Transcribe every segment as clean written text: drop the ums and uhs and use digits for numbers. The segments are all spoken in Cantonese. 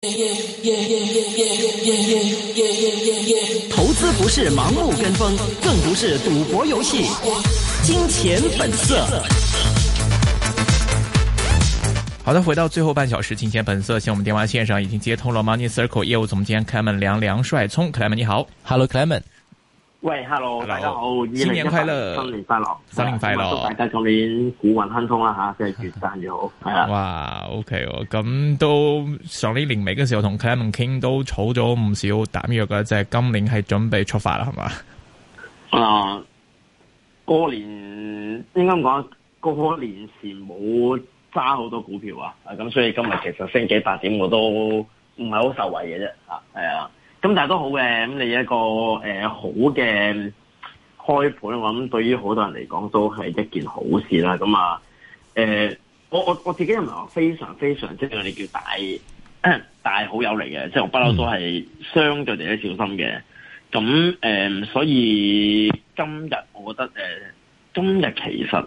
投資不是盲目跟風，更不是賭博遊戲。金錢本色。好的，回到最後半小時，金錢本色。現在我們電話線上已經接通了 Money Circle 業務總監 Clement 梁帥聰。Clement 你好。 Hello Clement。 喂 ，Hello， 大家好， 新年快樂， 新年快樂， 新年快樂， 祝大家今年股運亨通啦吓，即係越賺越好，係啊。 哇，OK 喎，咁都上年年尾嘅時候同 Clement 傾都儲咗唔少彈藥嘅，即係今年係準備出發啦，係嘛？ 過年應該講過年前冇揸好多股票啊，咁所以今日其實升幾百點我都唔係好受惠嘅啫，係啊。咁但係都好嘅，咁你一個好嘅開盤，我諗對於好多人嚟講都係一件好事啦。咁啊，我自己又唔係話非常非常即係我哋叫大好友嚟嘅，即係我不嬲都係相對地都小心嘅。咁所以今日我覺得今日其實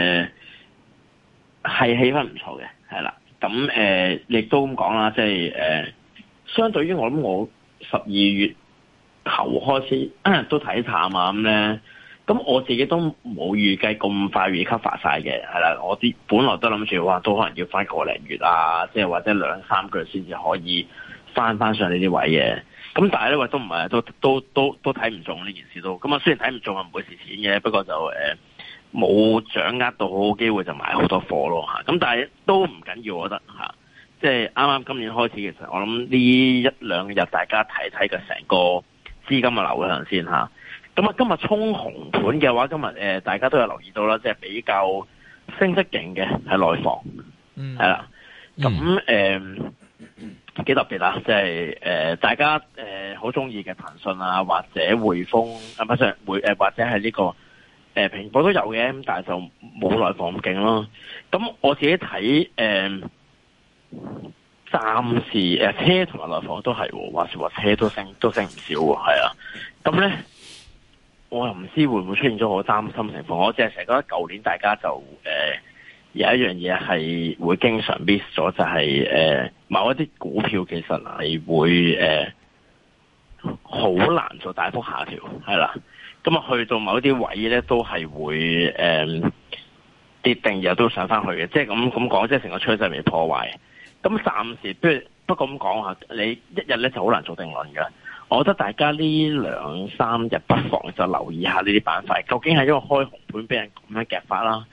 係氣氛唔錯嘅，係啦。咁亦都咁講啦，即係相對於我諗我12月頭開始都睇淡啊咁咧，咁我自己都冇預計咁快 recover 晒嘅，係啦，我啲本來都諗住話都可能要翻個零月啊，即係或者2-3個月先至可以翻上呢啲位嘅，咁但係咧都唔係都睇唔中呢件事都，咁啊雖然睇唔中啊唔會蝕錢嘅，不過就冇掌握到好機會就買好多貨咯嚇，咁但係都唔緊要，我覺得嚇。即係啱啱今年開始，其實我諗呢1-2日大家睇睇嘅成個資金嘅流向先嚇。咁啊，今日衝紅盤嘅話，今日大家都有留意到啦，即係比較升得勁嘅係內房，係啦。咁幾特別啦，即係大家好中意嘅騰訊啊，或者匯豐啊，或者係呢個蘋果都有嘅，咁但係就冇內房咁勁咯。咁我自己睇暫時車同埋內房都係，話車都升唔少喎，係啊。咁咧，我又唔知會唔會出現咗好擔心情況。我只係成日覺得舊年大家就有一樣嘢係會經常 miss 咗，就係某一啲股票其實係會好難做大幅下調，係啦。咁啊去到某一啲位咧都係會跌定，然後都上翻去嘅，即係咁講，即係成個趨勢未破壞。咁暫時不過咁講下，你一日咧就好難做定論㗎。我覺得大家呢2-3日不妨就留意下呢啲板塊，究竟係因為開紅盤俾人咁樣夾法啦。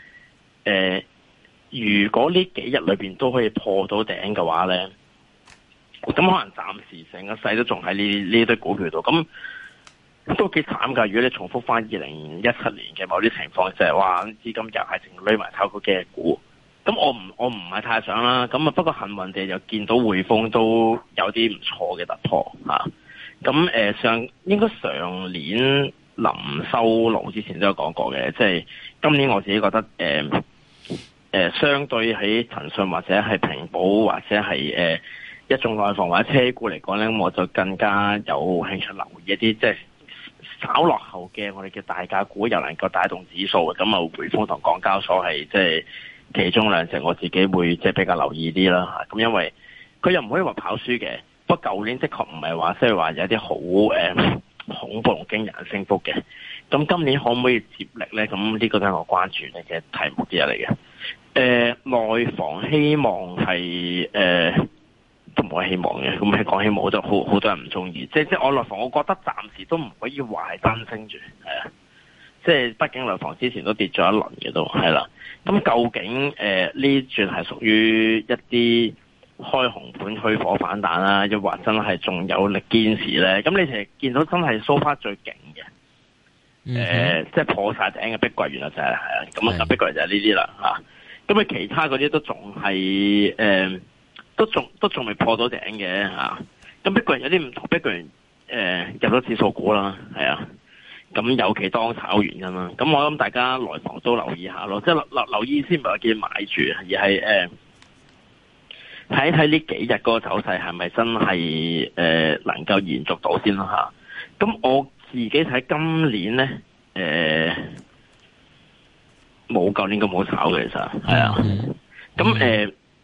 如果呢幾日裏邊都可以破到頂嘅話咧，咁可能暫時成個勢都仲喺呢堆股票度，咁都幾慘㗎。如果你重複翻2017年嘅某啲情況，就係話資金又係淨攞埋炒嗰幾隻股。咁我唔係太想啦，咁啊不過幸運地就見到匯豐都有啲唔錯嘅突破嚇。咁應該上年臨收爐之前都有講過嘅，即係今年我自己覺得相對喺騰訊或者係平保或者係一眾內房或者車股嚟講咧，我就更加有興趣留意一啲即係稍落後嘅我哋嘅大價股，又能夠帶動指數嘅，咁啊匯豐同港交所係即係其中兩隻我自己會即係比較留意啲啦嚇，咁因為佢又唔可以話跑輸嘅，不過舊年的確唔係話即係話有啲好恐怖同驚人升幅嘅，咁今年可唔可以接力咧？咁呢個都係我關注嘅題目之一嚟嘅。內房希望係都唔可以希望嘅，咁係講希望都好多人唔中意，即係我內房，我覺得暫時都唔可以話係單升住，係啊。即係畢竟內房之前都跌咗一輪嘅都係啦，咁究竟呢轉係屬於一啲開紅盤虛火反彈啦，又或真係仲有力堅持咧？咁你其實見到真係 so far 最勁嘅，即係破晒頂嘅碧桂園啦，就係啊，咁啊碧桂園就係呢啲啦嚇。咁啊其他嗰啲都仲係都仲未破到頂嘅嚇。咁碧桂園有啲唔同，碧桂園入咗指數股啦，係啊。咁有其當炒原因啦，咁我諗大家內房都留意下咯，即係留意先唔係話叫買住，而係睇睇呢幾日嗰個走勢係咪真係能夠延續到先啦嚇。咁我自己睇今年咧冇舊年咁好炒嘅，其實係啊。咁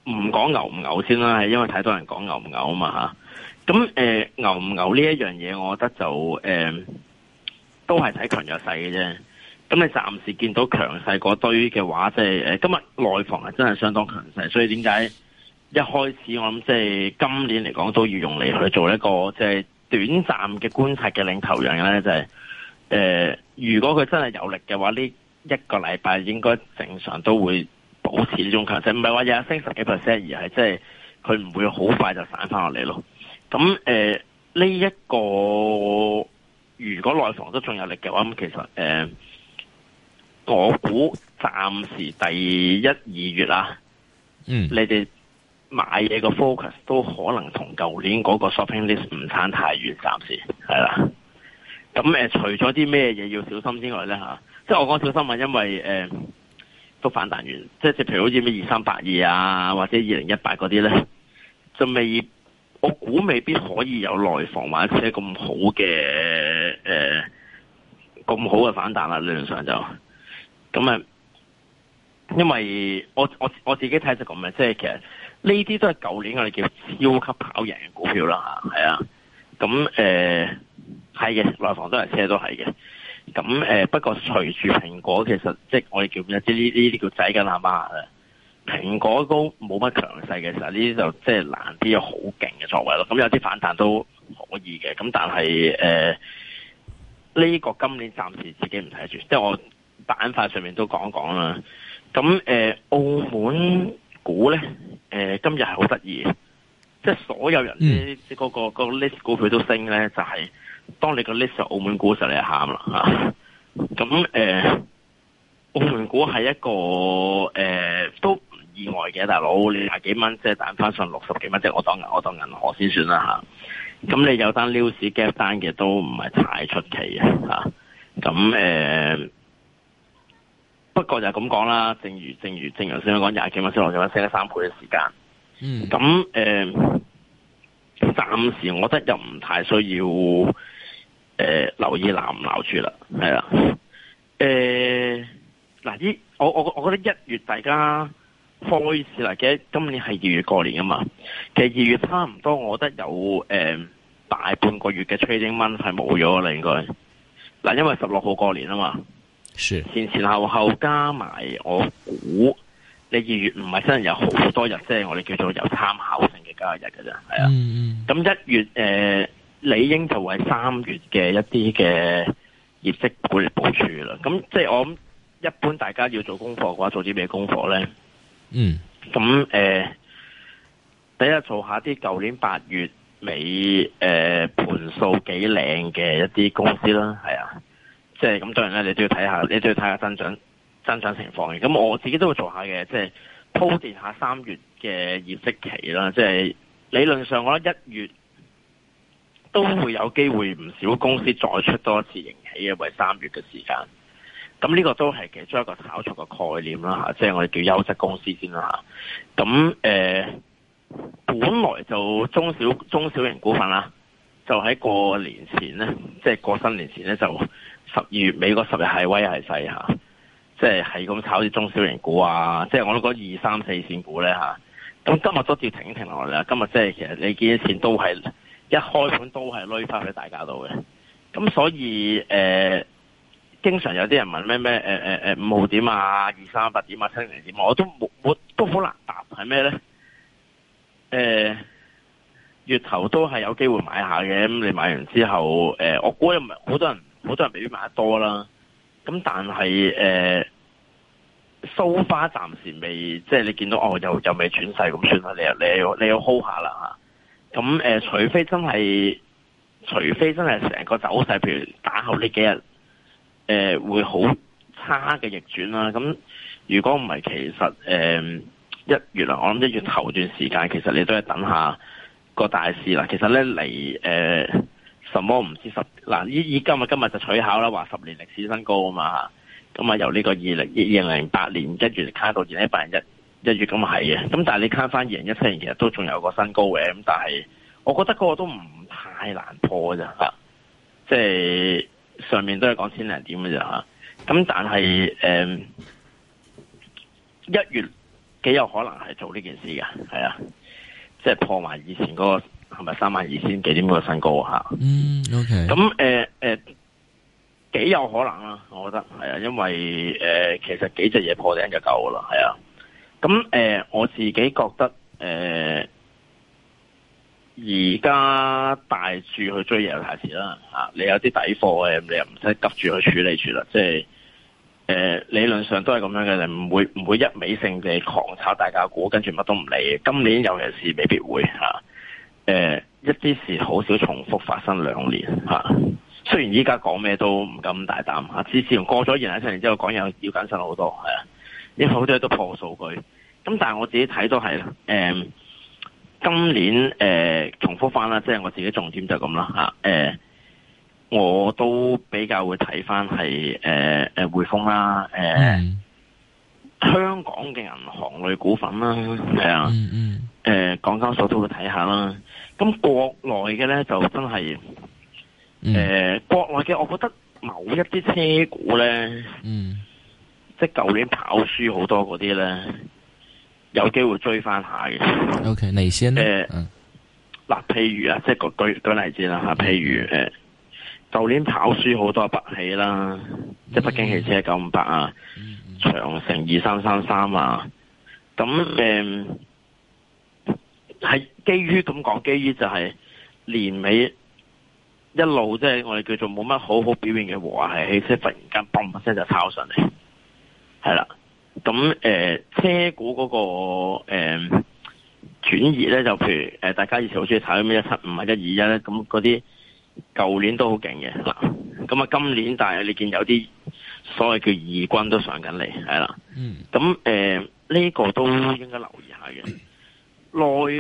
唔講牛唔牛先啦，係因為太多人講牛唔牛啊嘛嚇。咁牛唔牛呢一樣嘢，我覺得就都係睇強弱勢嘅啫。咁你暫時見到強勢嗰堆嘅話，即係今日內房係真係相當強勢，所以點解一開始我諗即係今年嚟講都要用嚟去做一個即係短暫嘅觀察嘅領頭羊咧，就係如果佢真係有力嘅話，呢一個禮拜應該正常都會保持呢種強勢，唔係話日日升10幾%，而係即係佢唔會好快就散翻落嚟咯。咁呢一個如果內房都仲有力嘅話，咁其實我估暫時第一、2月啊，你哋買嘢個 focus 都可能同舊年嗰個 shopping list 唔差太遠，暫時係啦。咁除咗啲咩嘢要小心之外咧嚇，即係我講小心啊，因為都反彈完，即係譬如好似咩2382啊，或者2018嗰啲咧，就我估未必可以有內房或者咁好嘅咁好嘅反彈啦，理論上就。咁因為我自己睇就咁嘅，即係其實呢啲都係舊年我哋叫超級跑贏嘅股票啦嚇，係啊。咁係嘅，內房都係車都係嘅。咁不過隨住蘋果，其實即係我哋叫咩？即係呢啲叫仔緊阿媽啦。蘋果都冇乜強勢嘅時候，呢啲就即係難啲有好勁嘅作為咯。咁有啲反彈都可以嘅。咁但係呢個今年暫時自己唔睇住，即係我板塊上面都講講啦。咁澳門股咧，今日係好得意，即係所有人啲嗰個 list 股票都升咧，就係當你個 list 係澳門股時，你就喊啦嚇。咁澳門股係一個都唔意外嘅，大佬你廿幾蚊即係彈翻上60幾蚊，即係我當銀河先算啦嚇。咁你有單 news gap 單嘅都唔係太出奇嘅嚇。咁不過就係咁講啦，正如先講廿幾蚊升落幾蚊，升咗3倍嘅時間。咁暫時我覺得又唔太需要留意鬧唔鬧住啦，係啦。嗱，我覺得1月大家開始啦，記得今年係2月過年啊嘛。其實2月差唔多，我覺得有大半個月嘅 trading month 係冇咗啦，應該。嗱，因為16號過年啊嘛。前後加埋，我估你2月唔係真係有好多日，即係我哋叫做有參考性嘅交易日嘅啫，係啊。咁1月理應就係3月嘅一啲嘅業績股嚟部署啦。咁即係我諗一般大家要做功課嘅話，做啲咩功課咧？咁第一做下啲舊年8月尾盤數幾靚嘅一啲公司啦，係啊。即係咁，當然咧，你都要睇下增長情況嘅。咁我自己都會做下嘅，即係鋪墊下3月嘅業績期啦。即係理論上，我覺得1月都會有機會唔少公司再出多一次盈喜嘅，為3月嘅時間。咁呢個都係其中一個炒作嘅概念啦嚇，即係我哋叫優質公司先啦嚇。咁本來就中小型股份啦，就喺過年前咧，即係過新年前咧就。12月尾嗰10日係威係勢嚇，即係咁炒啲中小型股啊，即係我都講2、3、4線股咧嚇。咁今日都要停一停落嚟啦。今日即係其實你見啲錢都係一開盤都係攞翻去大家度嘅。咁所以經常有啲人問咩5號點啊、238點啊、70點，我都好難答係咩咧？月頭都係有機會買下嘅。咁你買完之後，我估又唔係好多人未必買得多啦，咁但係so far暫時未，即係你見到又未轉勢咁算啦，你要 hold 下啦嚇。咁除非真係成個走勢，譬如打後呢幾日會好差嘅逆轉啦。咁如果唔係，其實1月啦，我諗1月頭段時間，其實你都係等下個大市啦。其實咧嚟什麼唔知嗱，今日就取巧啦，話10年歷史新高啊嘛，咁啊由呢個2008年1月卡到2018年1月咁係嘅，咁但係你卡翻2017年其實都仲有個新高嘅，咁但係我覺得嗰個都唔太難破嘅啫嚇，即係上面都係講千零點嘅啫嚇，咁但係1月幾有可能係做呢件事嘅，係啊，即係破埋以前嗰個係咪32,000幾點嗰個新高吓。 OK。 咁幾有可能啦，我覺得係啊，因為其實幾隻嘢破頂就夠噶啦，係啊。咁我自己覺得而家大注去追嘢又太遲啦嚇，你有啲底貨你又唔使急住去處理住啦，即係理論上都係咁樣嘅，你唔會一味性地狂炒大價股，跟住乜都唔理。今年尤其是未必會嚇，一啲事好少重複發生2年嚇。雖然依家講咩都唔敢大膽嚇，自從過咗2017年之後講嘢要謹慎好多係啊，因為好多嘢都破數據。咁但係我自己睇都係今年重複翻啦，即係我自己重點就咁啦嚇。我都比較會睇翻係匯豐啦，香港嘅銀行類股份啦，係啊，港交所都會睇下啦。咁國內嘅咧就真係國內嘅，我覺得某一啲車股咧，即係舊年跑輸好多嗰啲咧，有機會追翻下嘅。 OK， 哪些呢？ 嗱，譬如啊，即係舉例子啦嚇，譬如舊年跑輸好多北汽啦，即係北京汽車958啊，長城2333啊，咁係基於咁講，基於就係年尾一路即係我哋叫做冇乜好表現嘅和諧汽車，忽然間嘣一聲就抄上嚟，係啦。咁車股嗰個轉移咧，就譬如大家以前好中意炒咩175啊121咧，咁嗰啲舊年都好勁嘅嗱。咁啊今年但係你見有啲所謂叫二軍都上緊嚟，係啦。咁呢個都應該留意下嘅。內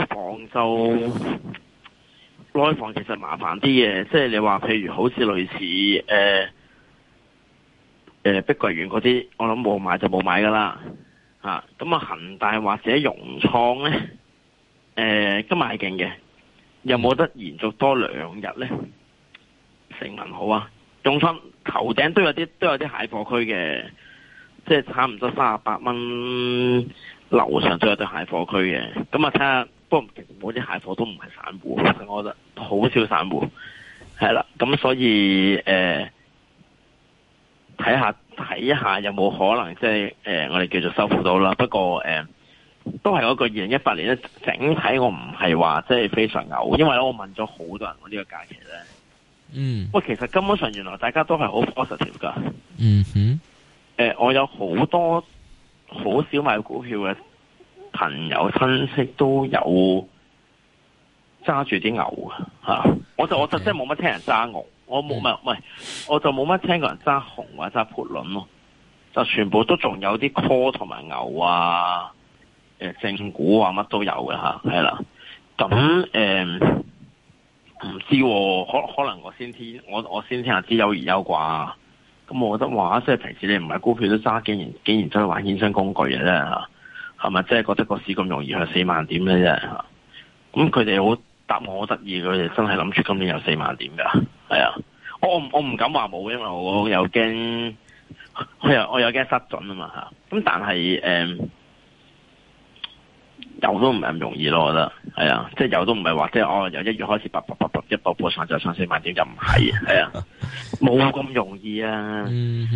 房其實麻煩啲嘅，即係你話譬如好似類似碧桂園嗰啲，我諗冇買就冇買噶啦嚇。咁啊恒大或者融創咧，今日係勁嘅，有冇得延續多2日咧？成問好啊！融創頭頂都有啲蟹貨區嘅，即係差唔多38蚊樓上都有啲蟹貨區嘅。咁啊睇下，不過其實冇啲蟹貨都唔係散戶，其實我覺得好少散戶係啦。咁所以睇一下有冇可能即係我哋叫做收復到啦。不過都係嗰個2018年咧，整體我唔係話即係非常牛，因為我問咗好多人我呢個假期咧。喂，其實根本上原來大家都係好 positive 噶。我有好多好少買股票嘅朋友親戚都有揸住啲牛吓，我就真係冇乜聽人揸牛，我冇我就冇乜聽過人揸熊或者揸 put 輪咯，就全部都仲有啲 call 同埋牛啊，正股啊乜都有嘅吓，係啦。咁唔知可能我先聽下知有而有啩。咁我覺得話即係平時你唔係股票都揸，竟然走去玩衍生工具嘅啫吓，係咪？即係覺得個市咁容易去4萬點咧啫吓。咁佢哋好答我好得意，佢哋真係諗住今年有4萬點噶。係啊，我唔敢話冇，因為我又驚我又驚失準啊嘛吓。咁但係有都唔係咁容易咯，我覺得係啊，即係有都唔係話即係由1月開始一步步上就上4萬點就唔係，係啊，冇咁容易啊。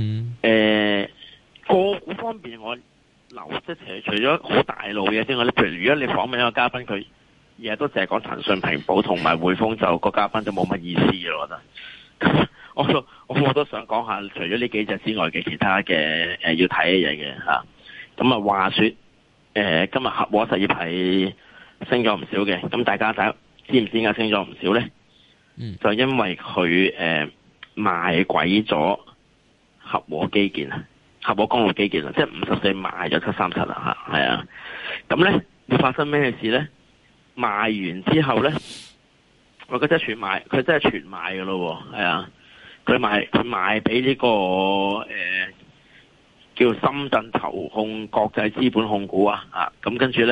個股方面我留即係除咗好大路嘅之外咧，譬如如果你訪問一個嘉賓，佢日日都淨係講騰訊、平保同埋匯豐，就個嘉賓就冇乜意思咯，我覺得。我都想講下，除咗呢幾隻之外嘅其他嘅要睇嘅嘢嘅吓。咁啊話說。今日合和實業係升咗唔少嘅，咁大家知唔知點解升咗唔少咧？就因為佢賣鬼咗合和基建啊，合和公路基建啊，即係54賣咗737啦吓，係啊。咁咧會發生咩事咧？賣完之後咧，佢真係全賣，佢真係全賣噶咯，係啊。佢賣俾呢個叫深圳投控國際資本控股啊，咁跟住咧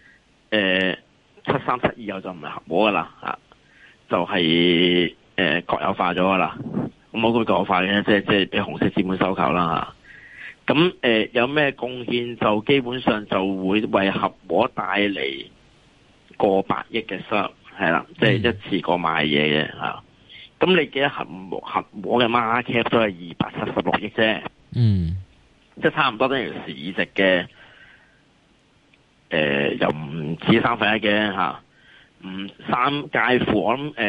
，7372以後就唔係合和噶啦，就係國有化咗噶啦。咁我估國有化嘅，即係俾紅色資本收購啦咁有咩貢獻就基本上就會為合和帶嚟過百億嘅收入，係啦，即係一次過賣嘢嘅嚇。咁你記得合和嘅 market cap 都係276億啫，即係差唔多等於市值嘅又唔止1/3嘅嚇，介乎我諗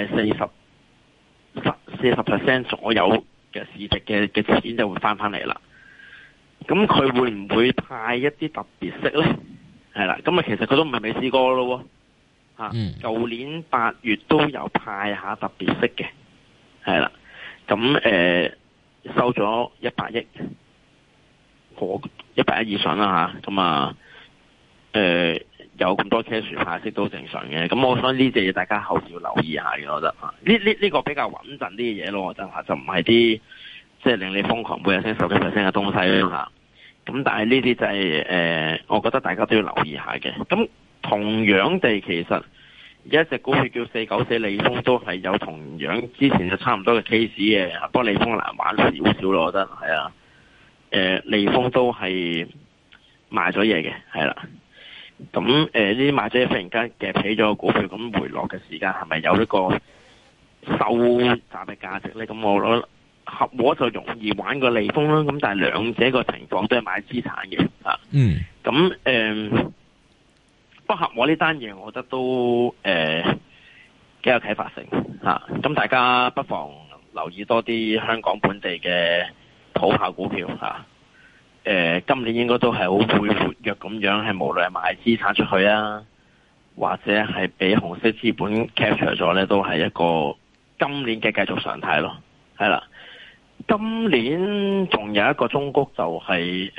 40% 左右嘅市值嘅錢就會翻嚟啦。咁佢會唔會派一啲特別息咧？係啦，咁其實佢都唔係未試過咯喎，舊年8月都有派下特別息嘅，係啦，咁收咗100億，過100億以上啦嚇，咁有咁多 cash 派息都正常嘅。咁我想呢隻嘢大家後時要留意下嘅，我覺得呢個比較穩陣啲嘅嘢咯，我覺得就唔係啲即係令你瘋狂每日升10%嘅東西啦。咁但係呢啲就係我覺得大家都要留意下嘅。咁同樣地，其實有一隻股票叫494利豐，都係有同樣之前就差唔多嘅 case 嘅，不過利豐難玩少少咯，我覺得係啊。利豐都係賣咗嘢嘅，係啦。咁呢啲賣咗嘢忽然間夾起咗個股票，咁回落嘅時間係咪有呢個收集嘅價值咧？咁我覺得合和就容易玩過利豐啦，咁但係兩者個情況都係買資產嘅嚇。咁不過合和呢單嘢，我覺得都幾有啟發性嚇。咁大家不妨留意多啲香港本地嘅土炮股票嚇。今年應該都係好會活躍咁樣，係無論係賣資產出去啊，或者係俾紅色資本 capture 咗咧，都係一個今年嘅繼續常態咯。係啦，今年仲有一個中谷就係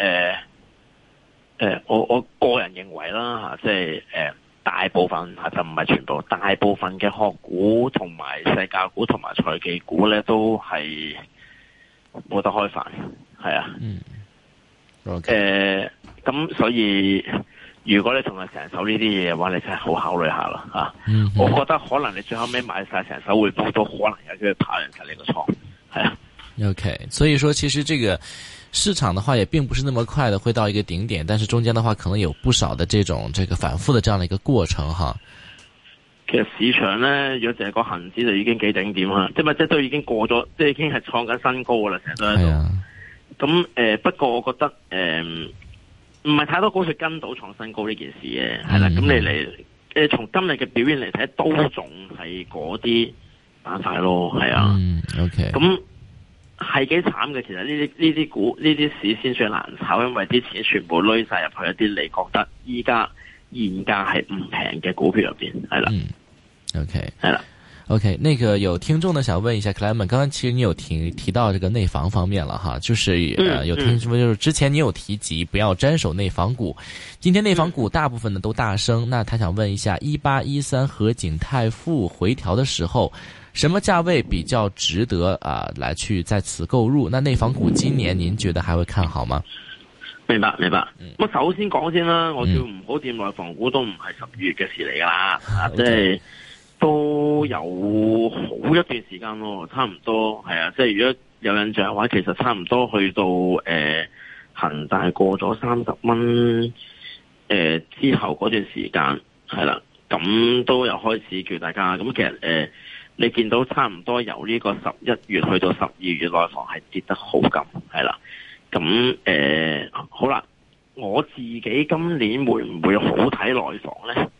我個人認為啦嚇，即係大部分就唔係全部，大部分嘅學股同埋世界股同埋財技股咧都係冇得開飯，係啊。咁所以如果你仲係成手呢啲嘢嘅話，你真係好考慮下啦嚇。我覺得可能你最後尾買晒成手匯豐都可能有機會跑贏晒你個倉，係啊。 OK， 所以說其實這個市場的話也並不是那麼快的會到一個頂點，但是中間的話可能有不少的這種反覆的這樣的一個過程哈。 其實市場咧，如果淨係個恒指就已經幾頂點啦，即係都已經過咗，即係已經係創緊新高噶啦，成日都喺度。咁不過我覺得唔係太多股市跟到創新高呢件事嘅，係啦。咁你嚟從今日嘅表現嚟睇，都仲係嗰啲板塊咯，係啊。 OK。 咁係幾慘嘅，其實呢啲股呢啲市先算難炒，因為啲錢全部攞晒入去一啲你覺得依家現價係唔平嘅股票入邊，係啦。 OK。 係啦。 OK， 那個有聽眾呢想問一下克萊門，剛剛其實你有提到這個內房方面了哈，就是有聽說就是之前你有提及不要沾手內房股，今天內房股大部分呢都大升，那他想問一下1813和景泰富回調的時候，什麼價位比較值得來去在此購入？那內房股今年您覺得還會看好嗎？ 明白。咁首先講先啦，我叫唔好掂內房股都唔係12月嘅事嚟噶啦，即係。都有好一段時間咯，差唔多係啊，即係如果有印象嘅話，其實差唔多去到恒大過咗30蚊之後嗰段時間係啦，咁都有開始叫大家咁其實你見到差唔多由呢個11月去到12月內房係跌得好緊係啦，咁好啦，我自己今年會唔會好睇內房咧？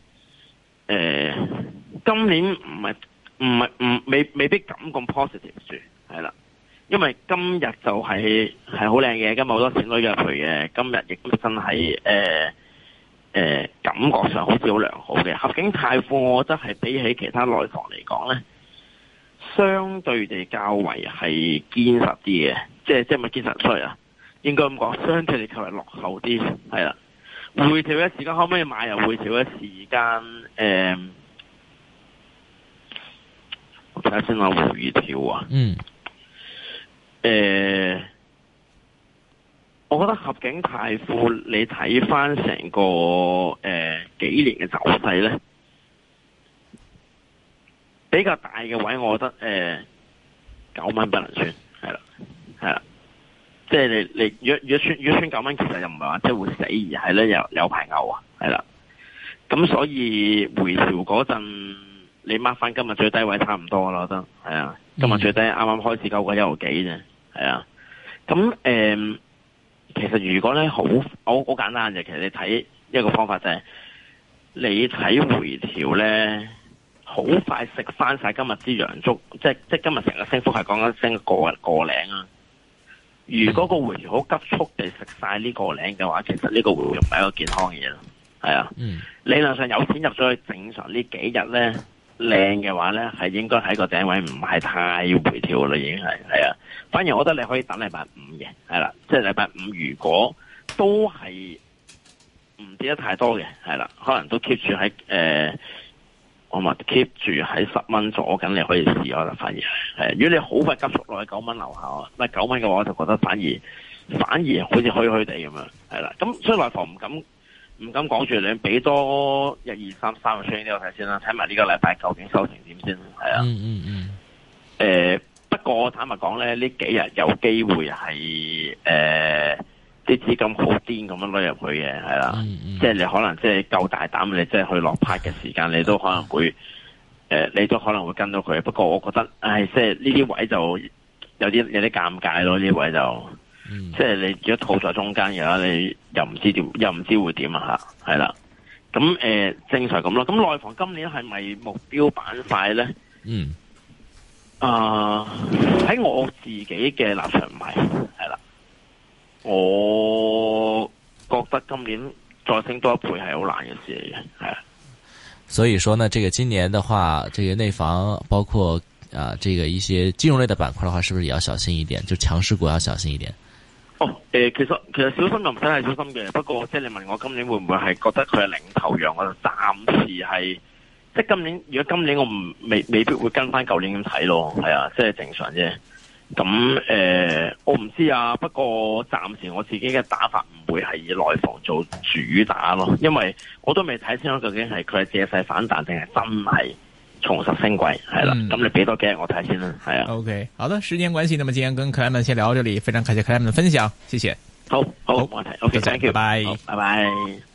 今年未必咁 positive 住，係啦，因為今日就係好靚嘅，今日好多錢都入去嘅，今日亦都真係感覺上好似好良好嘅。合景泰富，我覺得係比起其他內房嚟講咧，相對地較為係堅實啲嘅，即係咪堅實衰啊？應該咁講，相對地較為落後啲，係啦。回調嘅時間可唔可以買？又回調嘅時間，我睇下先啦，回調啊。我覺得合景泰富，你睇翻成個幾年嘅走勢咧，比較大嘅位，我覺得9蚊不能算，係啦。 即係你如果穿9蚊，其實又唔係話即係會死，而係咧有排牛啊，係啦。咁所以回調嗰陣，你 mark 翻今日最低位差唔多啦，我覺得係啊。今日最低啱啱開始9個1毫幾啫，係啊。咁其實如果咧好簡單嘅，其實你睇一個方法就係、是、你睇回調咧，好快食翻晒今日支陽燭，即今日成個升幅係講緊升個零啊。如果個回調好急速地食晒呢個零嘅話，其實呢個回調唔係一個健康嘅嘢咯，係啊。理論上有錢入咗去，正常呢幾日咧靚嘅話咧，係應該喺個頂位，唔係太回調啦，已經係啊。反而我覺得你可以等禮拜五嘅，係啦，即係禮拜五如果都係唔跌得太多嘅，係啦，可能都 keep 住喺我咪 keep 住喺10蚊左緊，你可以試我就反而係。如果你好快急速落去9蚊樓下，唔係9蚊嘅話，我就覺得反而好似虛虛地咁樣，係啦。咁所以內房唔敢講住，你俾多1、2、3個 train 呢個睇先啦，睇埋呢個禮拜究竟收成點先，係啊。不過坦白講咧，呢幾日有機會係啲資金好癲咁樣攞入去嘅，係啦。即係你可能即係夠大膽，你即係去落拍嘅時間，你都可能會你都可能會跟到佢。不過我覺得，即係呢啲位就有啲尷尬咯。呢啲位就即係你如果套在中間嘅話，你又唔知會點啊吓，係啦。咁正常咁咯。咁內房今年係咪目標板塊咧？喺我自己嘅立場唔係，係啦。我覺得今年再升多一倍係好難嘅事嚟嘅，係啊。 所以說呢，這個今年的話，這個內房包括這個一些金融類的板塊的話，是不是也要小心一點？就強勢股要小心一點。 其實小心就唔使係小心嘅。不過即係你問我今年會唔會係覺得佢係領頭羊，我就暫時係。即係今年，如果今年我未必會跟翻舊年咁睇咯，係啊，即係正常啫。咁我唔知啊。不過暫時我自己嘅打法唔會係以內房做主打咯，因為我都未睇清楚究竟係佢係借勢反彈定係真係重拾升軌，係啦。咁你俾多幾日我睇先啦，係啊。 OK， 好的，時間關係，那麼今天跟Clement先聊到這裡，非常感謝Clement的分享，謝謝。 好，冇問題。OK，thank you， 拜拜， 拜拜。